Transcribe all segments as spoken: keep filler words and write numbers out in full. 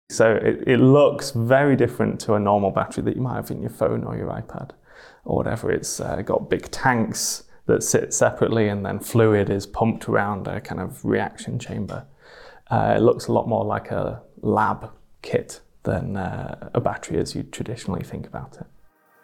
So it, it looks very different to a normal battery that you might have in your phone or your iPad or whatever. It's uh, got big tanks that sit separately, and then fluid is pumped around a kind of reaction chamber. Uh, it looks a lot more like a lab kit than uh, a battery as you traditionally think about it.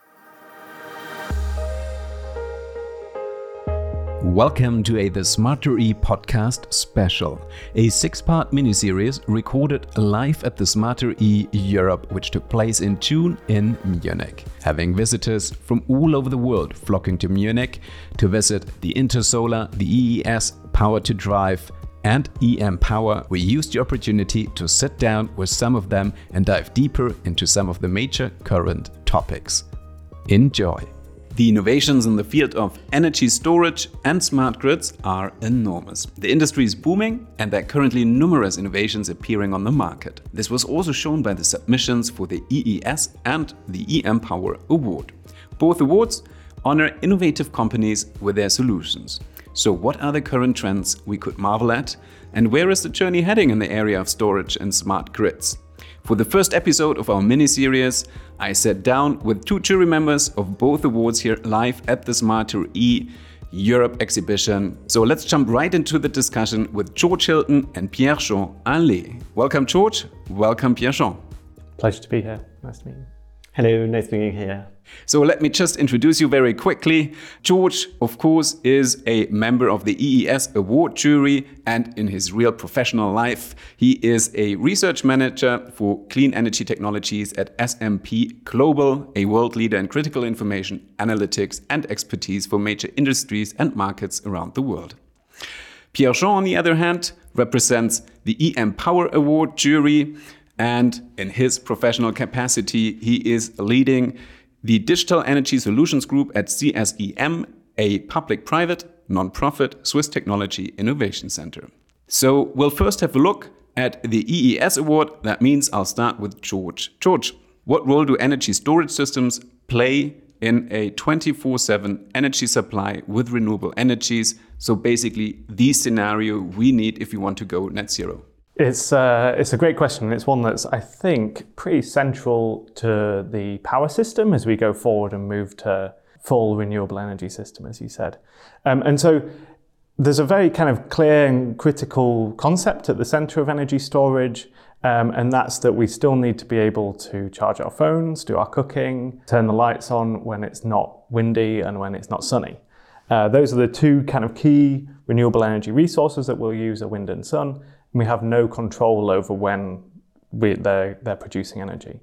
Welcome to a The Smarter E podcast special, a six-part miniseries recorded live at the Smarter E Europe, which took place in June in Munich. Having visitors from all over the world flocking to Munich to visit the Intersolar, the E E S, Power to Drive, and E M Power, we used the opportunity to sit down with some of them and dive deeper into some of the major current topics. Enjoy! The innovations in the field of energy storage and smart grids are enormous. The industry is booming, and there are currently numerous innovations appearing on the market. This was also shown by the submissions for the E E S and the E M Power Award. Both awards honor innovative companies with their solutions. So what are the current trends we could marvel at, and where is the journey heading in the area of storage and smart grids? For the first episode of our mini-series, I sat down with two jury members of both awards here live at the Smarter E Europe exhibition. So let's jump right into the discussion with George Hilton and Pierre-Jean Allais. Welcome, George. Welcome, Pierre-Jean. Pleasure to be here. Nice to meet you. Hello, nice being here. So let me just introduce you very quickly. George, of course, is a member of the E E S award jury, and in his real professional life, he is a research manager for clean energy technologies at S M P Global, a world leader in critical information, analytics, and expertise for major industries and markets around the world. Pierre-Jean, on the other hand, represents the E M Power Award jury, and in his professional capacity, he is leading the Digital Energy Solutions Group at C S E M, a public-private, non-profit Swiss technology innovation center. So we'll first have a look at the E E S award. That means I'll start with George. George, what role do energy storage systems play in a twenty-four seven energy supply with renewable energies? So basically the scenario we need if you want to go net zero. It's uh, it's a great question. It's one that's, I think, pretty central to the power system as we go forward and move to full renewable energy system, as you said. Um, and so there's a very kind of clear and critical concept at the center of energy storage, um, and that's that we still need to be able to charge our phones, do our cooking, turn the lights on when it's not windy and when it's not sunny. Uh, those are the two kind of key renewable energy resources that we'll use, are wind and sun. And we have no control over when we, they're, they're producing energy.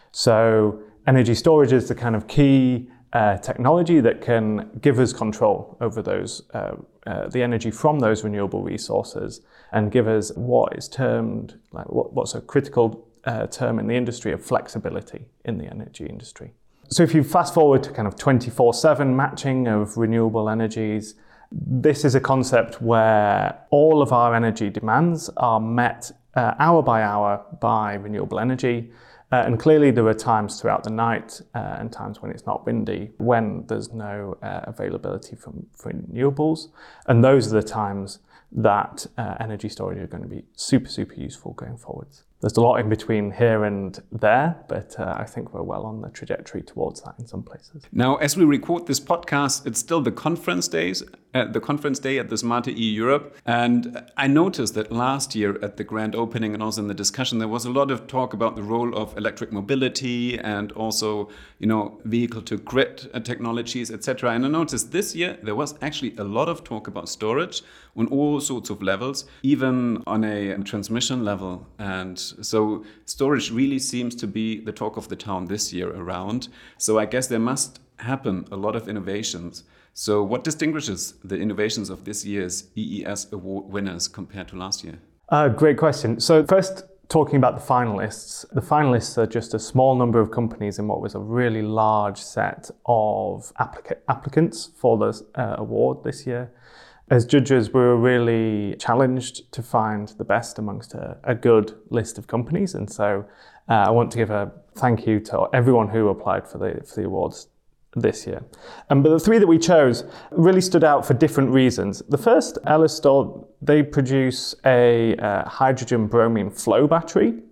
So energy storage is the kind of key uh, technology that can give us control over those uh, uh, the energy from those renewable resources and give us what is termed, like what, what's a critical uh, term in the industry of flexibility in the energy industry. So if you fast forward to kind of twenty-four seven matching of renewable energies, this is a concept where all of our energy demands are met uh, hour by hour by renewable energy. Uh, and clearly there are times throughout the night uh, and times when it's not windy, when there's no uh, availability from, for renewables. And those are the times that uh, energy storage are going to be super, super useful going forwards. There's a lot in between here and there, but uh, I think we're well on the trajectory towards that in some places. Now, as we record this podcast, it's still the conference days, uh, the conference day at the Smarter E Europe. And I noticed that last year at the grand opening and also in the discussion, there was a lot of talk about the role of electric mobility and also, you know, vehicle to grid technologies, et cetera. And I noticed this year there was actually a lot of talk about storage on all sorts of levels, even on a transmission level. And so storage really seems to be the talk of the town this year around. So I guess there must happen a lot of innovations. So what distinguishes the innovations of this year's E E S award winners compared to last year? Uh, great question. So first, talking about the finalists, the finalists are just a small number of companies in what was a really large set of applica- applicants for the uh, award this year. As judges, we were really challenged to find the best amongst a, a good list of companies. And so uh, I want to give a thank you to everyone who applied for the, for the awards this year. Um, but the three that we chose really stood out for different reasons. The first, Elestor, they produce a uh, hydrogen bromine flow battery.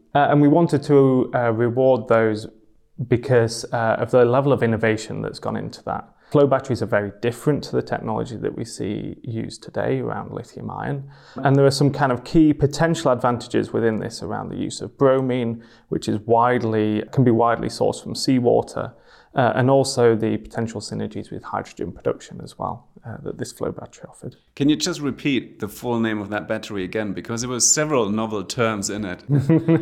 Uh, and we wanted to uh, reward those because uh, of the level of innovation that's gone into that. Flow batteries are very different to the technology that we see used today around lithium ion. And there are some kind of key potential advantages within this around the use of bromine, which is widely, can be widely sourced from seawater, uh, and also the potential synergies with hydrogen production as well uh, that this flow battery offered. Can you just repeat the full name of that battery again? Because there were several novel terms in it.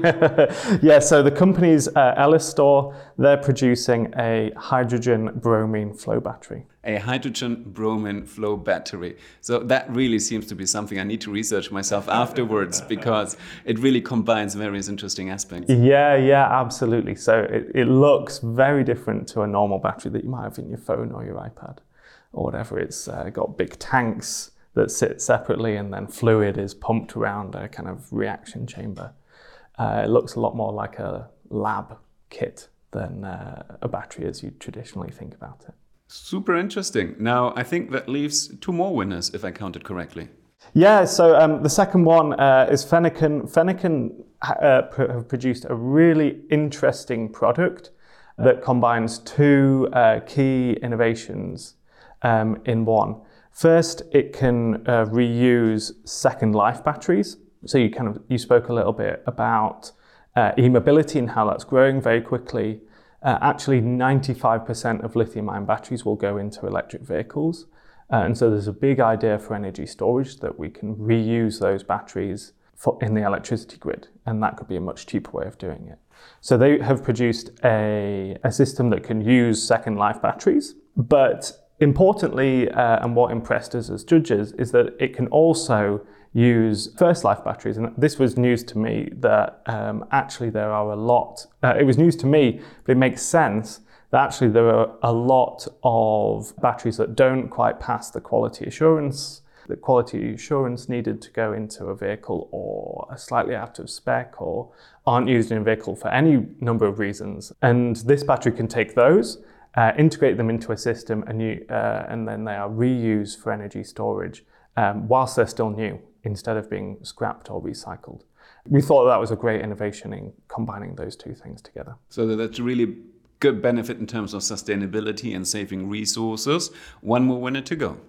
Yeah, so the company's uh, Ellistor, they're producing a hydrogen bromine flow battery. A hydrogen bromine flow battery. So that really seems to be something I need to research myself afterwards, because it really combines various interesting aspects. Yeah, yeah, absolutely. So it, it looks very different to a normal battery that you might have in your phone or your iPad or whatever. It's uh, got big tanks that sit separately, and then fluid is pumped around a kind of reaction chamber. Uh, it looks a lot more like a lab kit than uh, a battery as you traditionally think about it. Super interesting. Now, I think that leaves two more winners, if I counted correctly. Yeah, so um, the second one uh, is Fennican. Fennican uh, pr- have produced a really interesting product that combines two uh, key innovations um, in one. First, it can uh, reuse second life batteries. So you kind of you spoke a little bit about uh, e-mobility and how that's growing very quickly. Uh, actually, ninety-five percent of lithium-ion batteries will go into electric vehicles. Uh, and so there's a big idea for energy storage that we can reuse those batteries for, in the electricity grid. And that could be a much cheaper way of doing it. So they have produced a, a system that can use second life batteries. But importantly, uh, and what impressed us as judges, is that it can also use first life batteries. And this was news to me that um, actually there are a lot, uh, it was news to me, but it makes sense that actually there are a lot of batteries that don't quite pass the quality assurance, the quality assurance needed to go into a vehicle, or are slightly out of spec, or aren't used in a vehicle for any number of reasons. And this battery can take those, uh, integrate them into a system, and, you, uh, and then they are reused for energy storage um, whilst they're still new, instead of being scrapped or recycled. We thought that was a great innovation in combining those two things together. So that's really good benefit in terms of sustainability and saving resources. One more winner to go.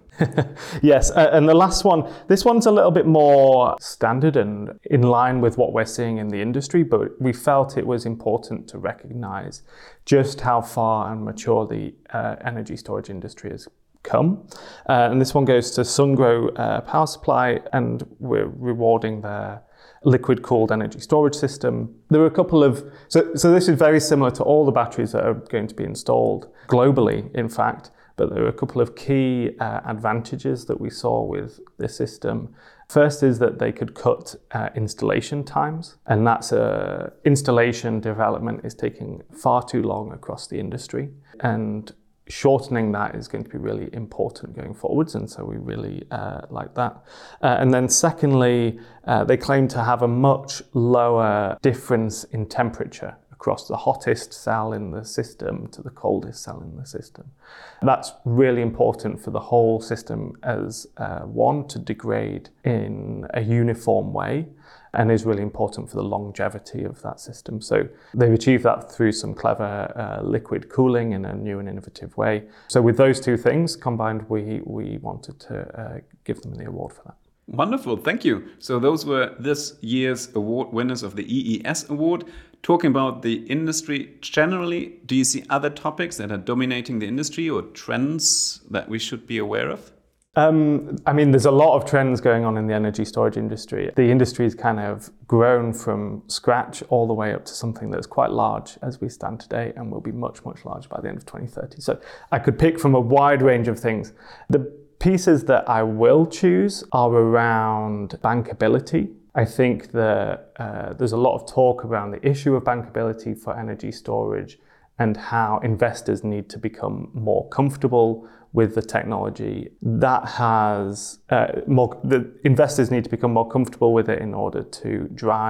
Yes, uh, and the last one, this one's a little bit more standard and in line with what we're seeing in the industry, but we felt it was important to recognize just how far and mature the uh, energy storage industry has come. Uh, and this one goes to Sungrow uh, Power Supply, and we're rewarding their liquid-cooled energy storage system. There were a couple of, so, so this is very similar to all the batteries that are going to be installed globally, in fact, but there were a couple of key uh, advantages that we saw with this system. First is that they could cut uh, installation times, and that's uh, installation development is taking far too long across the industry, and shortening that is going to be really important going forwards, and so we really uh, like that. Uh, and then secondly, uh, they claim to have a much lower difference in temperature across the hottest cell in the system to the coldest cell in the system. That's really important for the whole system as uh, one, to degrade in a uniform way, and is really important for the longevity of that system. So they've achieved that through some clever uh, liquid cooling in a new and innovative way. So with those two things combined, we, we wanted to uh, give them the award for that. Wonderful, thank you. So those were this year's award winners of the E E S Award. Talking about the industry generally, do you see other topics that are dominating the industry or trends that we should be aware of? Um, I mean, there's a lot of trends going on in the energy storage industry. The industry's kind of grown from scratch all the way up to something that's quite large as we stand today, and will be much, much larger by the end of twenty thirty. So I could pick from a wide range of things. The pieces that I will choose are around bankability. I think that uh, there's a lot of talk around the issue of bankability for energy storage, and how investors need to become more comfortable with the technology. That has uh, more, the investors need to become more comfortable with it in order to drive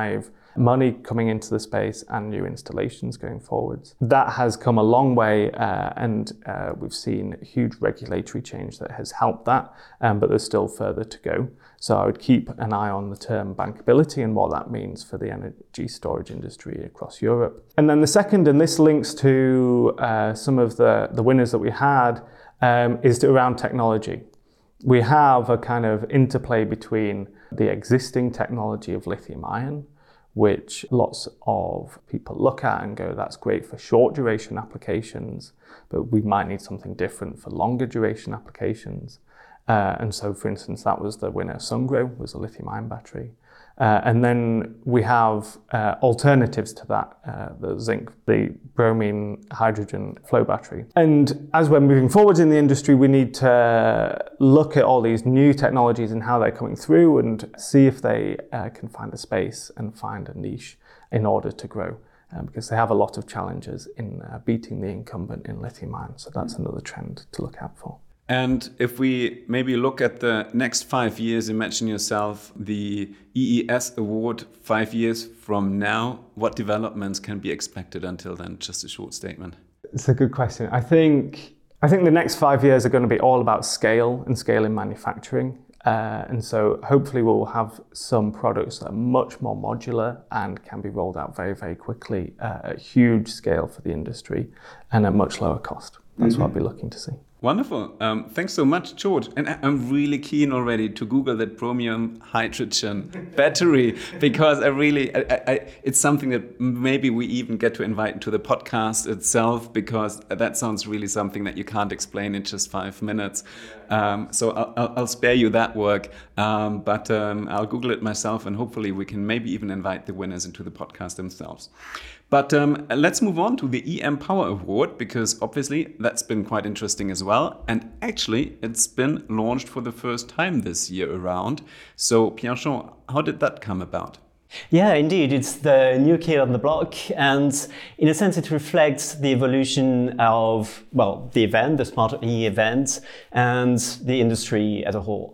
money coming into the space and new installations going forwards. That has come a long way, uh, and uh, we've seen huge regulatory change that has helped that, um, but there's still further to go. So I would keep an eye on the term bankability and what that means for the energy storage industry across Europe. And then the second, and this links to uh, some of the, the winners that we had, um, is around technology. We have a kind of interplay between the existing technology of lithium ion, which lots of people look at and go, that's great for short duration applications, but we might need something different for longer duration applications. Uh, and so, for instance, that was the winner. Sungrow was a lithium-ion battery. Uh, and then we have uh, alternatives to that, uh, the zinc, the bromine hydrogen flow battery. And as we're moving forward in the industry, we need to look at all these new technologies and how they're coming through and see if they uh, can find a space and find a niche in order to grow. Um, because they have a lot of challenges in uh, beating the incumbent in lithium-ion. So that's another trend to look out for. And if we maybe look at the next five years, imagine yourself the E E S award five years from now. What developments can be expected until then? Just a short statement. It's a good question. I think I think the next five years are going to be all about scale and scale in manufacturing. Uh, and so hopefully we'll have some products that are much more modular and can be rolled out very, very quickly uh, at huge scale for the industry and at much lower cost. That's mm-hmm. what I'll be looking to see. Wonderful. Um, thanks so much, George. And I'm really keen already to Google that bromine hydrogen battery, because I really, I, I, it's something that maybe we even get to invite to the podcast itself, because that sounds really something that you can't explain in just five minutes. Um, so I'll, I'll spare you that work, um, but um, I'll Google it myself, and hopefully we can maybe even invite the winners into the podcast themselves. But um, let's move on to the E M Power Award, because obviously that's been quite interesting as well. And actually, it's been launched for the first time this year around. So Pierre-Jean, how did that come about? Yeah, indeed. It's the new kid on the block. And in a sense, it reflects the evolution of, well, the event, the Smart E event, and the industry as a whole.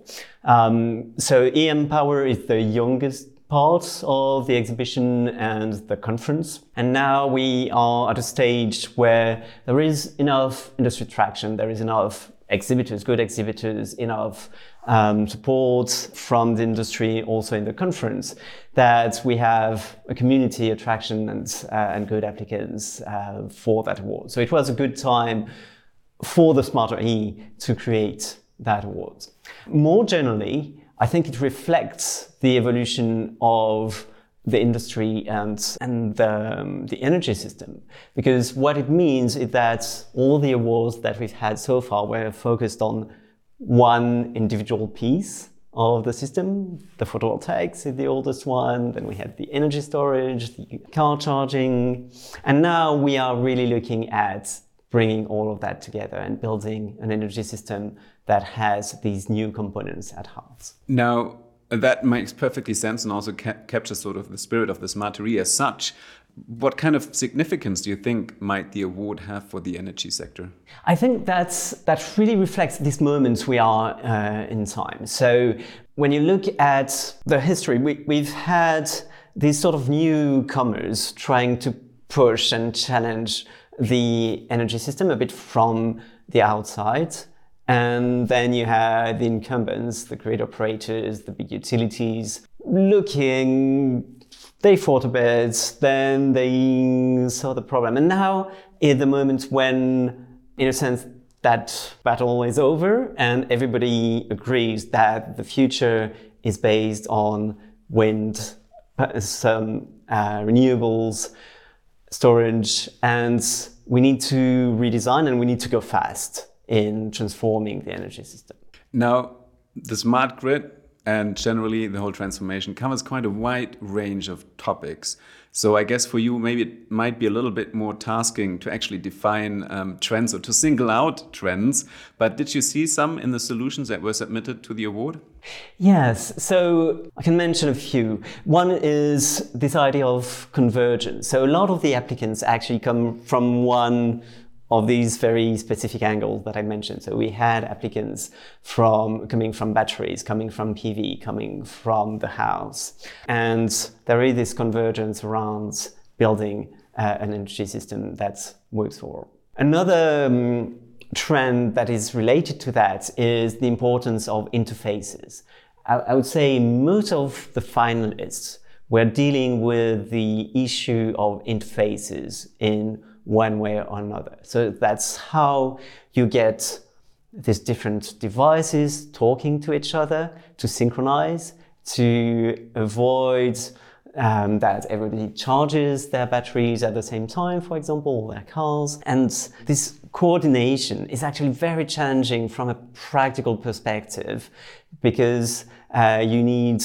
Um, so E M Power is the youngest part of the exhibition and the conference. And now we are at a stage where there is enough industry traction, there is enough exhibitors, good exhibitors, enough um, support from the industry also in the conference, that we have a community attraction and, uh, and good applicants uh, for that award. So it was a good time for the Smarter E to create that award. More generally, I think it reflects the evolution of the industry and, and the, um, the energy system. Because what it means is that all the awards that we've had so far were focused on one individual piece of the system. The photovoltaics is the oldest one, then we had the energy storage, the car charging, and now we are really looking at bringing all of that together and building an energy system that has these new components at heart. Now, that makes perfectly sense and also ca- captures sort of the spirit of the Smarter E as such. What kind of significance do you think might the award have for the energy sector? I think that's, that really reflects this moment we are uh, in time. So when you look at the history, we, we've had these sort of newcomers trying to push and challenge the energy system a bit from the outside. And then you had the incumbents, the grid operators, the big utilities, looking, they fought a bit, then they saw the problem. And now is the moment when, in a sense, that battle is over and everybody agrees that the future is based on wind, some uh, renewables, storage, and we need to redesign and we need to go fast in transforming the energy system. Now, the smart grid and generally the whole transformation covers quite a wide range of topics. So I guess for you, maybe it might be a little bit more tasking to actually define um, trends or to single out trends. But did you see some in the solutions that were submitted to the award? Yes, so I can mention a few. One is this idea of convergence. So a lot of the applicants actually come from one of these very specific angles that I mentioned. So we had applicants from coming from batteries, coming from P V, coming from the house. And there is this convergence around building uh, an energy system that works for all. Another um, trend that is related to that is the importance of interfaces. I, I would say most of the finalists were dealing with the issue of interfaces in one way or another. So that's how you get these different devices talking to each other, to synchronize, to avoid um, that everybody charges their batteries at the same time, for example, or their cars. And this coordination is actually very challenging from a practical perspective, because uh, you need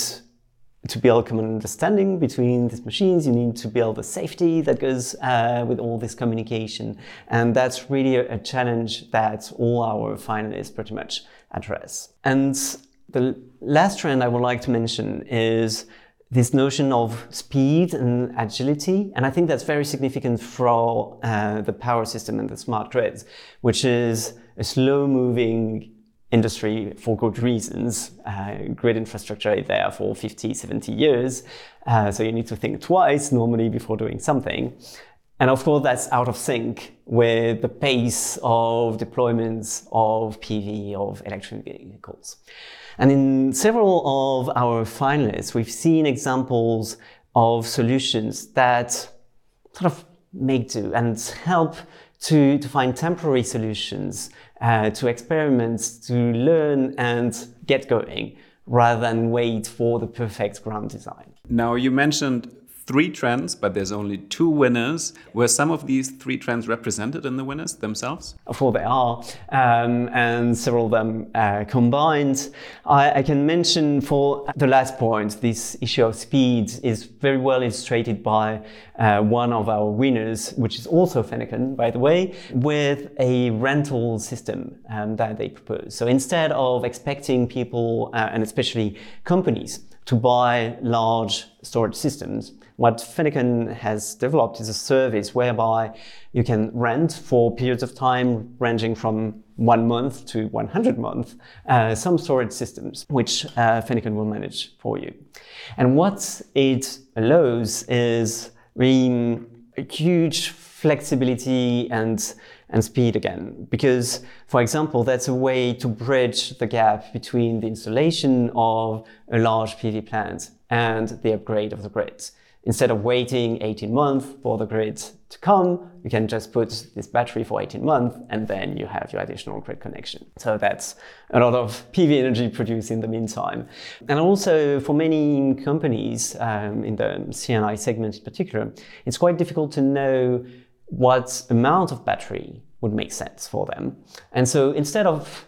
to build common understanding between these machines, you need to build the safety that goes uh, with all this communication. And that's really a, a challenge that all our finalists pretty much address. And the last trend I would like to mention is this notion of speed and agility. And I think that's very significant for uh, the power system and the smart grids, which is a slow-moving industry for good reasons. Uh, grid infrastructure is there for fifty, seventy years. Uh, so you need to think twice normally before doing something. And of course, that's out of sync with the pace of deployments of P V, of electric vehicles. And in several of our finalists, we've seen examples of solutions that sort of make do and help to, to find temporary solutions, uh, to experiment, to learn and get going, rather than wait for the perfect ground design. Now, you mentioned three trends, but there's only two winners. Were some of these three trends represented in the winners themselves? Of course they are, um, and several of them uh, combined. I, I can mention for the last point, this issue of speed is very well illustrated by uh, one of our winners, which is also Fennecan, by the way, with a rental system um, that they propose. So instead of expecting people, uh, and especially companies, to buy large storage systems, what Fennecan has developed is a service whereby you can rent for periods of time ranging from one month to one hundred months uh, some storage systems, which uh, Fennecan will manage for you. And what it allows is really a huge flexibility and and speed again, because, for example, that's a way to bridge the gap between the installation of a large P V plant and the upgrade of the grid. Instead of waiting eighteen months for the grid to come, you can just put this battery for eighteen months and then you have your additional grid connection. So that's a lot of P V energy produced in the meantime. And also for many companies um, in the C and I segment in particular, it's quite difficult to know what amount of battery would make sense for them. And so instead of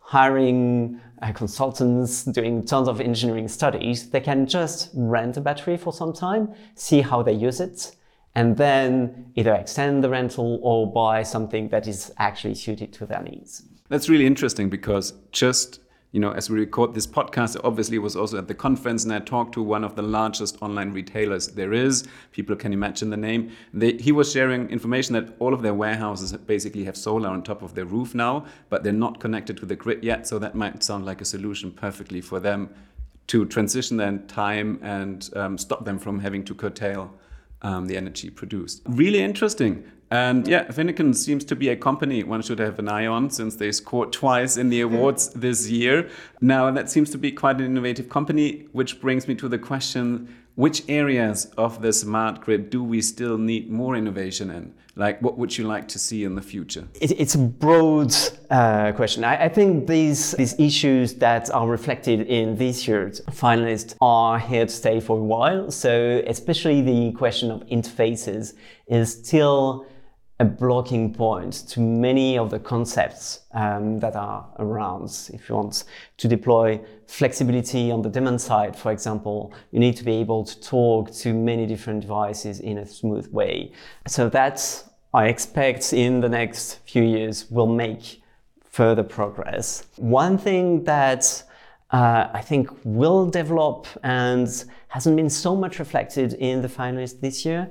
hiring uh, consultants, doing tons of engineering studies, they can just rent a battery for some time, see how they use it, and then either extend the rental or buy something that is actually suited to their needs. That's really interesting, because just, you know, as we record this podcast, I obviously was also at the conference and I talked to one of the largest online retailers there is. People can imagine the name. They, he was sharing information that all of their warehouses basically have solar on top of their roof now, but they're not connected to the grid yet. So that might sound like a solution perfectly for them to transition their time and um, stop them from having to curtail um, the energy produced. Really interesting. And yeah, Fennecan seems to be a company one should have an eye on, since they scored twice in the awards this year. Now, that seems to be quite an innovative company, which brings me to the question, which areas of the smart grid do we still need more innovation in? Like, what would you like to see in the future? It, it's a broad uh, question. I, I think these, these issues that are reflected in this year's finalists are here to stay for a while. So especially the question of interfaces is still a blocking point to many of the concepts um, that are around. If you want to deploy flexibility on the demand side, for example, you need to be able to talk to many different devices in a smooth way. So that, I expect, in the next few years will make further progress. One thing that uh, I think will develop and hasn't been so much reflected in the finalists this year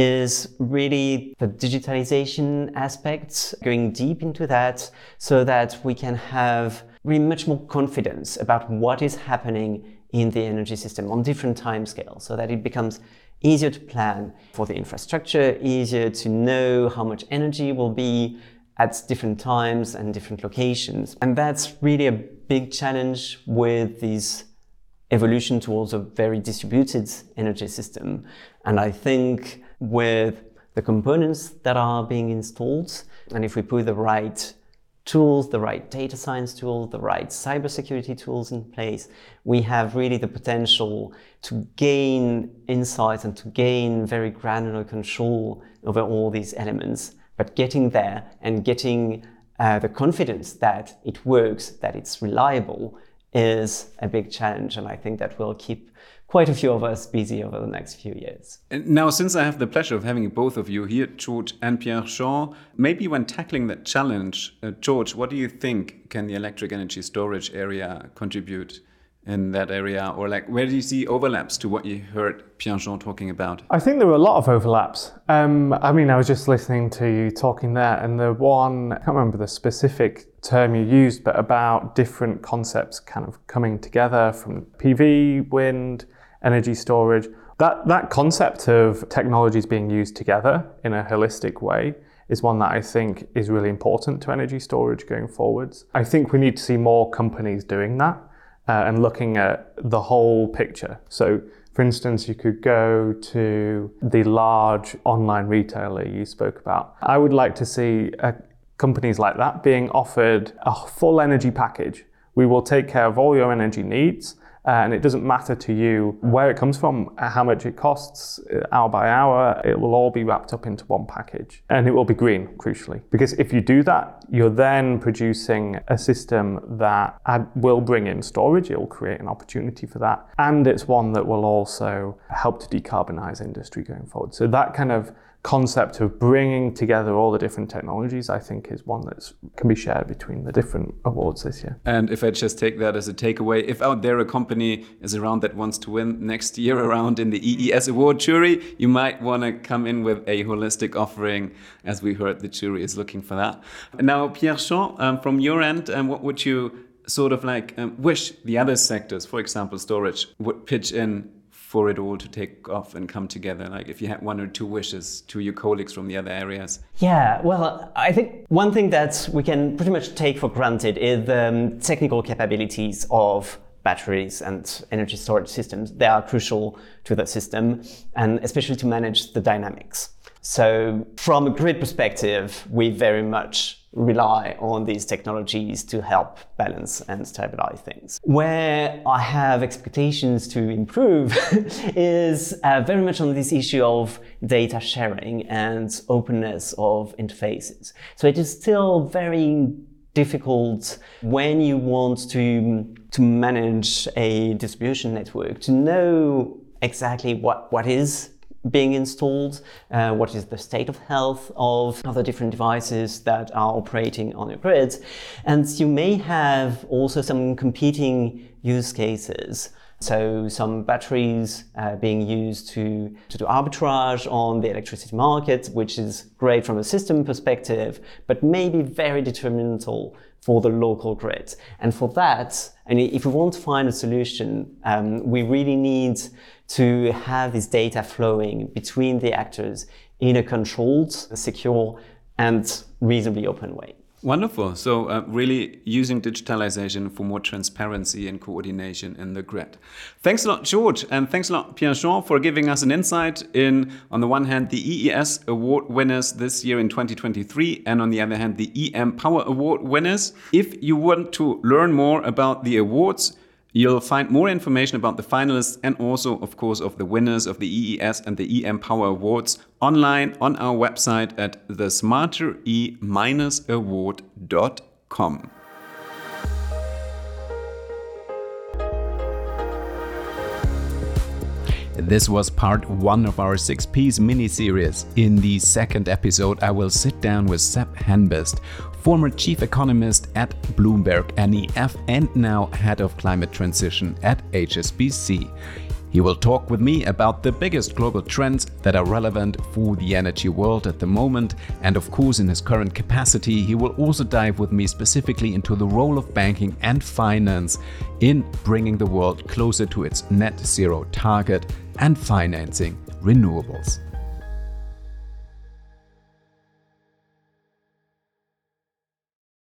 is really the digitalization aspects, going deep into that so that we can have really much more confidence about what is happening in the energy system on different timescales, so that it becomes easier to plan for the infrastructure, easier to know how much energy will be at different times and different locations. And that's really a big challenge with this evolution towards a very distributed energy system. And I think with the components that are being installed, and if we put the right tools, the right data science tools, the right cybersecurity tools in place, we have really the potential to gain insights and to gain very granular control over all these elements. But getting there and getting uh, the confidence that it works, that it's reliable, is a big challenge. And I think that will keep quite a few of us busy over the next few years. And now, since I have the pleasure of having both of you here, George and Pierre-Jean, maybe when tackling that challenge, uh, George, what do you think can the electric energy storage area contribute in that area? Or like, where do you see overlaps to what you heard Pierre-Jean talking about? I think there were a lot of overlaps. Um, I mean, I was just listening to you talking there, and the one, I can't remember the specific term you used, but about different concepts kind of coming together from P V, wind, energy storage. That that concept of technologies being used together in a holistic way is one that I think is really important to energy storage going forwards. I think we need to see more companies doing that uh, and looking at the whole picture. So, for instance, you could go to the large online retailer you spoke about. I would like to see uh, companies like that being offered a full energy package. We will take care of all your energy needs. Uh, and it doesn't matter to you where it comes from, how much it costs, hour by hour, it will all be wrapped up into one package. And it will be green, crucially. Because if you do that, you're then producing a system that will bring in storage, it will create an opportunity for that. And it's one that will also help to decarbonize industry going forward. So that kind of concept of bringing together all the different technologies, I think, is one that can be shared between the different awards this year. And if I just take that as a takeaway, if out there a company is around that wants to win next year around in the E E S award jury, you might want to come in with a holistic offering. As we heard, the jury is looking for that. Now, Pierre-Jean, um, from your end, um, what would you sort of like um, wish the other sectors, for example, storage, would pitch in for it all to take off and come together? Like if you had one or two wishes to your colleagues from the other areas. Yeah, well, I think one thing that we can pretty much take for granted is the um, technical capabilities of batteries and energy storage systems. They are crucial to the system, and especially to manage the dynamics. So from a grid perspective, we very much rely on these technologies to help balance and stabilize things. Where I have expectations to improve is uh, very much on this issue of data sharing and openness of interfaces. So it is still very difficult when you want to, to manage a distribution network to know exactly what, what is being installed, uh, what is the state of health of other different devices that are operating on your grid. And you may have also some competing use cases. So some batteries uh, being used to, to do arbitrage on the electricity market, which is great from a system perspective, but maybe very detrimental for the local grid. And for that, and if we want to find a solution, um, we really need to have this data flowing between the actors in a controlled, secure, and reasonably open way. Wonderful. So uh, really using digitalization for more transparency and coordination in the grid. Thanks a lot, George, and thanks a lot, Pierre-Jean, for giving us an insight in, on the one hand, the E E S award winners this year in twenty twenty-three, and on the other hand, the E M Power Award winners. If you want to learn more about the awards, you'll find more information about the finalists and also, of course, of the winners of the E E S and the E M Power Awards online on our website at the smarter e dash award dot com. This was part one of our six-piece mini-series. In the second episode, I will sit down with Sepp Henbest, former chief economist at Bloomberg N E F and now head of climate transition at H S B C. He will talk with me about the biggest global trends that are relevant for the energy world at the moment, and of course in his current capacity he will also dive with me specifically into the role of banking and finance in bringing the world closer to its net zero target and financing renewables.